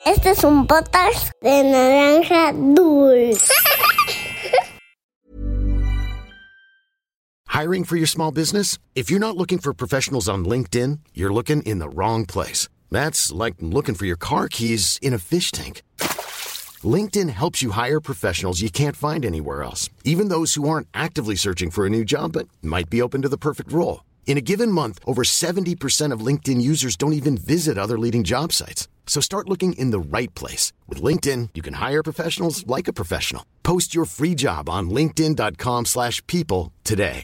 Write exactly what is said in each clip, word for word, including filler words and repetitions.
Este es un podcast de Naranja Dulce. Hiring for your small business? If you're not looking for professionals on LinkedIn, you're looking in the wrong place. That's like looking for your car keys in a fish tank. LinkedIn helps you hire professionals you can't find anywhere else, even those who aren't actively searching for a new job but might be open to the perfect role. In a given month, over seventy percent of LinkedIn users don't even visit other leading job sites. So start looking in the right place. With LinkedIn, you can hire professionals like a professional. Post your free job on linkedin.com slash people today.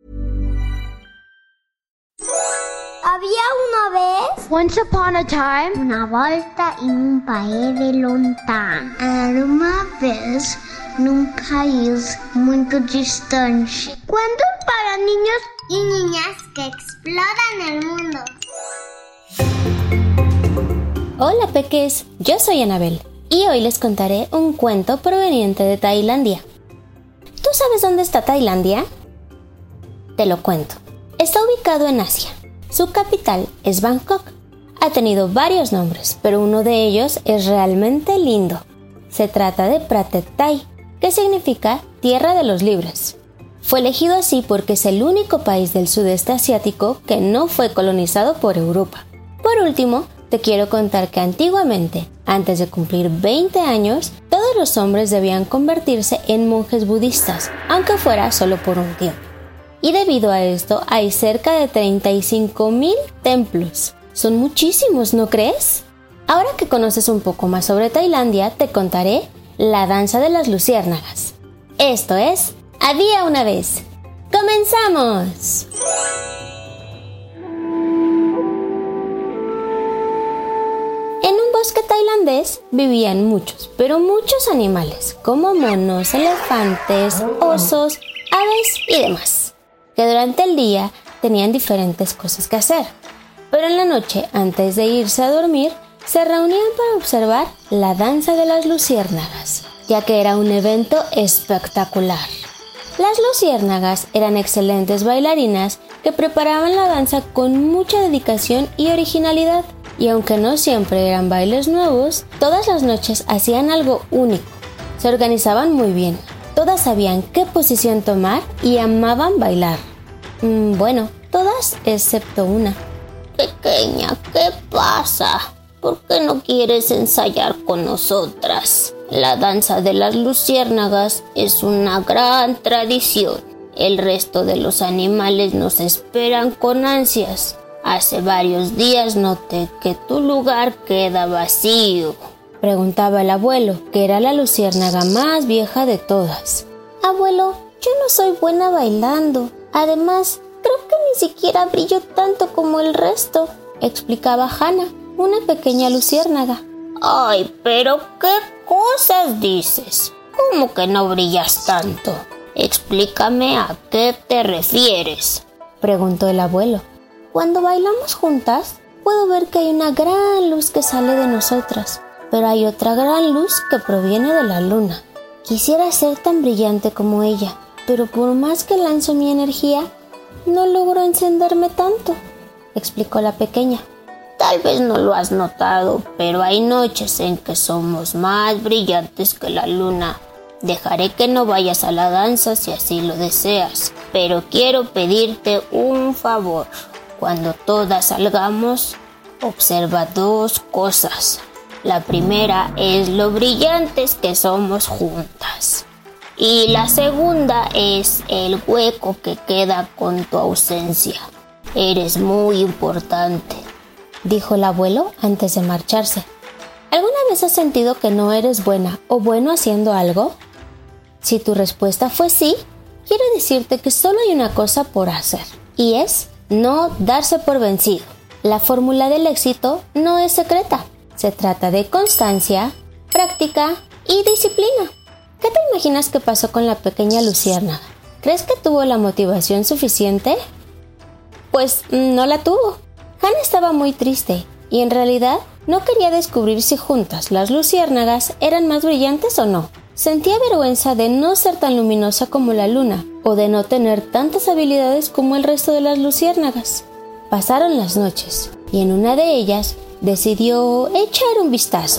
Había una vez, Once upon a time, una volta en un país de lontano. Era uma vez num país muito distante. Cuentos para niños y niñas que exploran el mundo. Hola peques, yo soy Anabel y hoy les contaré un cuento proveniente de Tailandia. ¿Tú sabes dónde está Tailandia? Te lo cuento. Está ubicado en Asia. Su capital es Bangkok. Ha tenido varios nombres, pero uno de ellos es realmente lindo. Se trata de Pratet Thai, que significa Tierra de los Libres. Fue elegido así porque es el único país del sudeste asiático que no fue colonizado por Europa. Por último, te quiero contar que antiguamente, antes de cumplir veinte años, todos los hombres debían convertirse en monjes budistas, aunque fuera solo por un tiempo. Y debido a esto hay cerca de treinta y cinco mil templos. Son muchísimos, ¿no crees? Ahora que conoces un poco más sobre Tailandia, te contaré la danza de las luciérnagas. Esto es Había una vez. ¡Comenzamos! En un bosque tailandés vivían muchos, pero muchos animales, como monos, elefantes, osos, aves y demás, que durante el día tenían diferentes cosas que hacer. Pero en la noche, antes de irse a dormir, se reunían para observar la danza de las luciérnagas, ya que era un evento espectacular. Las luciérnagas eran excelentes bailarinas que preparaban la danza con mucha dedicación y originalidad. Y aunque no siempre eran bailes nuevos, todas las noches hacían algo único. Se organizaban muy bien. Todas sabían qué posición tomar y amaban bailar. Mm, bueno, todas excepto una. Pequeña, ¿qué pasa? ¿Por qué no quieres ensayar con nosotras? La danza de las luciérnagas es una gran tradición. El resto de los animales nos esperan con ansias. Hace varios días noté que tu lugar queda vacío. Preguntaba el abuelo, que era la luciérnaga más vieja de todas. Abuelo, yo no soy buena bailando. Además, creo que ni siquiera brillo tanto como el resto, explicaba Hannah, una pequeña luciérnaga. Ay, pero ¿qué cosas dices? ¿Cómo que no brillas tanto? Explícame a qué te refieres, preguntó el abuelo. Cuando bailamos juntas, puedo ver que hay una gran luz que sale de nosotras, pero hay otra gran luz que proviene de la luna. Quisiera ser tan brillante como ella, pero por más que lanzo mi energía, no logro encenderme tanto, explicó la pequeña. Tal vez no lo has notado, pero hay noches en que somos más brillantes que la luna. Dejaré que no vayas a la danza si así lo deseas, pero quiero pedirte un favor. Cuando todas salgamos, observa dos cosas. La primera es lo brillantes que somos juntas. Y la segunda es el hueco que queda con tu ausencia. Eres muy importante, dijo el abuelo antes de marcharse. ¿Alguna vez has sentido que no eres buena o bueno haciendo algo? Si tu respuesta fue sí, quiero decirte que solo hay una cosa por hacer, y es no darse por vencido. La fórmula del éxito no es secreta. Se trata de constancia, práctica y disciplina. ¿Qué te imaginas que pasó con la pequeña luciérnaga? ¿Crees que tuvo la motivación suficiente? Pues no la tuvo. Hannah estaba muy triste y en realidad no quería descubrir si juntas las luciérnagas eran más brillantes o no. Sentía vergüenza de no ser tan luminosa como la luna o de no tener tantas habilidades como el resto de las luciérnagas. Pasaron las noches y en una de ellas decidió echar un vistazo.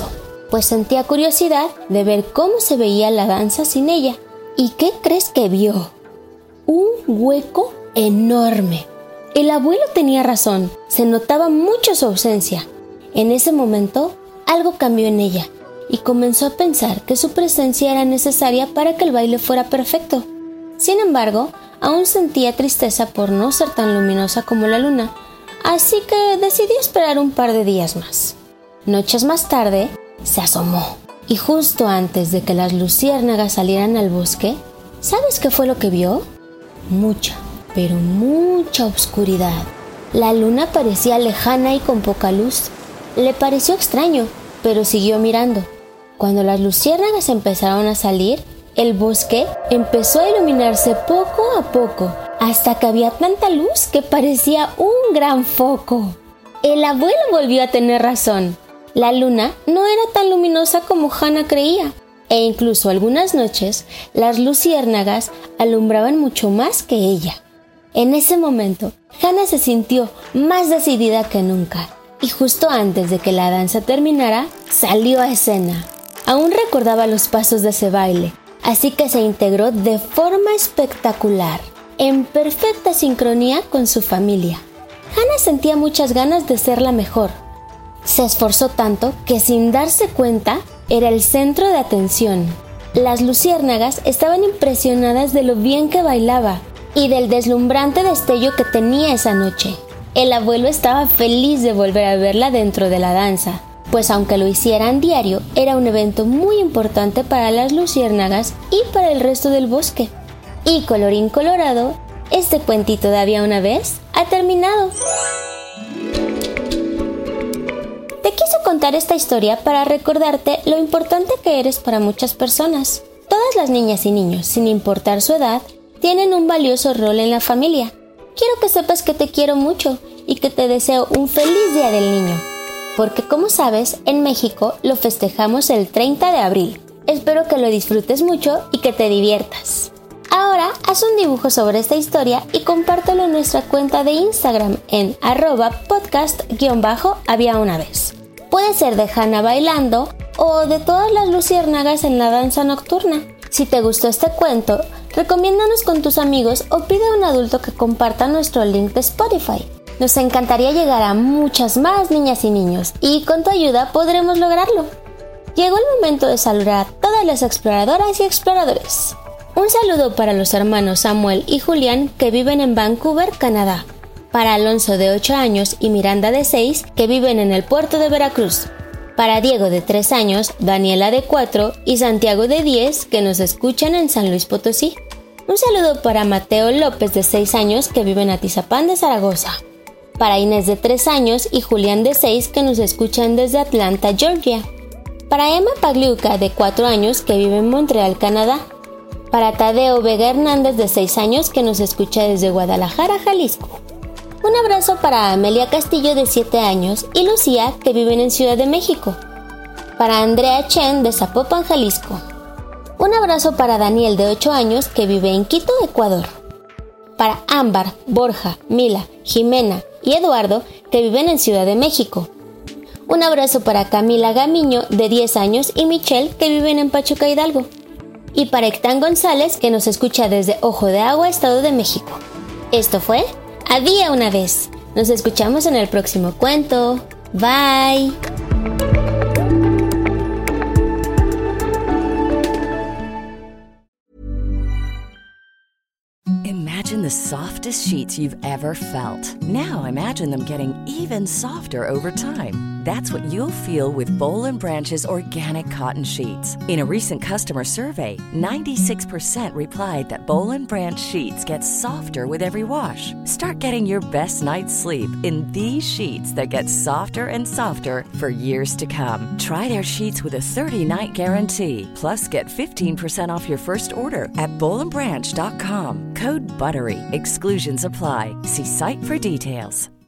pues sentía curiosidad de ver cómo se veía la danza sin ella. ¿Y qué crees que vio? Un hueco enorme. El abuelo tenía razón, se notaba mucho su ausencia. En ese momento, algo cambió en ella y comenzó a pensar que su presencia era necesaria para que el baile fuera perfecto. Sin embargo, aún sentía tristeza por no ser tan luminosa como la luna, así que decidió esperar un par de días más. Noches más tarde, se asomó y justo antes de que las luciérnagas salieran al bosque, ¿sabes qué fue lo que vio? Mucha, pero mucha oscuridad. La luna parecía lejana y con poca luz. Le pareció extraño, pero siguió mirando. Cuando las luciérnagas empezaron a salir, el bosque empezó a iluminarse poco a poco, hasta que había tanta luz que parecía un gran foco. El abuelo volvió a tener razón. La luna no era tan luminosa como Hannah creía, e incluso algunas noches las luciérnagas alumbraban mucho más que ella. En ese momento, Hannah se sintió más decidida que nunca, y justo antes de que la danza terminara, salió a escena. Aún recordaba los pasos de ese baile, así que se integró de forma espectacular, en perfecta sincronía con su familia. Hannah sentía muchas ganas de ser la mejor. Se esforzó tanto que sin darse cuenta era el centro de atención. Las luciérnagas estaban impresionadas de lo bien que bailaba y del deslumbrante destello que tenía esa noche. El abuelo estaba feliz de volver a verla dentro de la danza, pues aunque lo hicieran diario, era un evento muy importante para las luciérnagas y para el resto del bosque. Y colorín colorado, este cuentito de había una vez ha terminado. Te quise contar esta historia para recordarte lo importante que eres para muchas personas. Todas las niñas y niños, sin importar su edad, tienen un valioso rol en la familia. Quiero que sepas que te quiero mucho y que te deseo un feliz Día del Niño. Porque como sabes, en México lo festejamos el treinta de abril. Espero que lo disfrutes mucho y que te diviertas. Ahora haz un dibujo sobre esta historia y compártelo en nuestra cuenta de Instagram en arroba podcast-había una vez. Puede ser de Hannah bailando o de todas las luciérnagas en la danza nocturna. Si te gustó este cuento, recomiéndanos con tus amigos o pide a un adulto que comparta nuestro link de Spotify. Nos encantaría llegar a muchas más niñas y niños y con tu ayuda podremos lograrlo. Llegó el momento de saludar a todas las exploradoras y exploradores. Un saludo para los hermanos Samuel y Julián que viven en Vancouver, Canadá. Para Alonso de ocho años y Miranda de seis que viven en el puerto de Veracruz. Para Diego de tres años, Daniela de cuatro y Santiago de diez que nos escuchan en San Luis Potosí. Un saludo para Mateo López de seis años que vive en Atizapán de Zaragoza. Para Inés de tres años y Julián de seis que nos escuchan desde Atlanta, Georgia. Para Emma Pagliuca de cuatro años que vive en Montreal, Canadá. Para Tadeo Vega Hernández de seis años que nos escucha desde Guadalajara, Jalisco. Un abrazo para Amelia Castillo de siete años y Lucía que viven en Ciudad de México. Para Andrea Chen de Zapopan, Jalisco. Un abrazo para Daniel de ocho años que vive en Quito, Ecuador. Para Ámbar, Borja, Mila, Jimena y Eduardo que viven en Ciudad de México. Un abrazo para Camila Gamiño de diez años y Michelle que viven en Pachuca, Hidalgo. Y para Ectán González que nos escucha desde Ojo de Agua, Estado de México. Esto fue Había una vez. Nos escuchamos en el próximo cuento. Bye. Imagine the softest sheets you've ever felt. Now imagine them getting even softer over time. That's what you'll feel with Boll and Branch's organic cotton sheets. In a recent customer survey, ninety-six percent replied that Boll and Branch sheets get softer with every wash. Start getting your best night's sleep in these sheets that get softer and softer for years to come. Try their sheets with a thirty-night guarantee. Plus, get fifteen percent off your first order at boll and branch dot com. Code BUTTERY. Exclusions apply. See site for details.